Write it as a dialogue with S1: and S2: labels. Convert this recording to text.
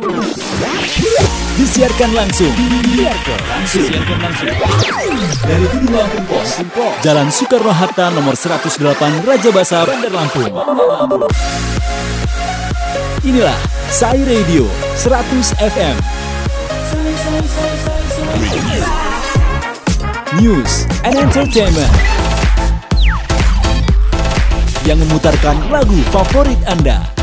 S1: Disiarkan langsung dari Gedung Lampung Pos, Jalan Soekarno-Hatta nomor 108 Raja Basa, Bandar Lampung. Inilah Sai Radio 100 FM. News and Entertainment yang memutarkan lagu favorit Anda.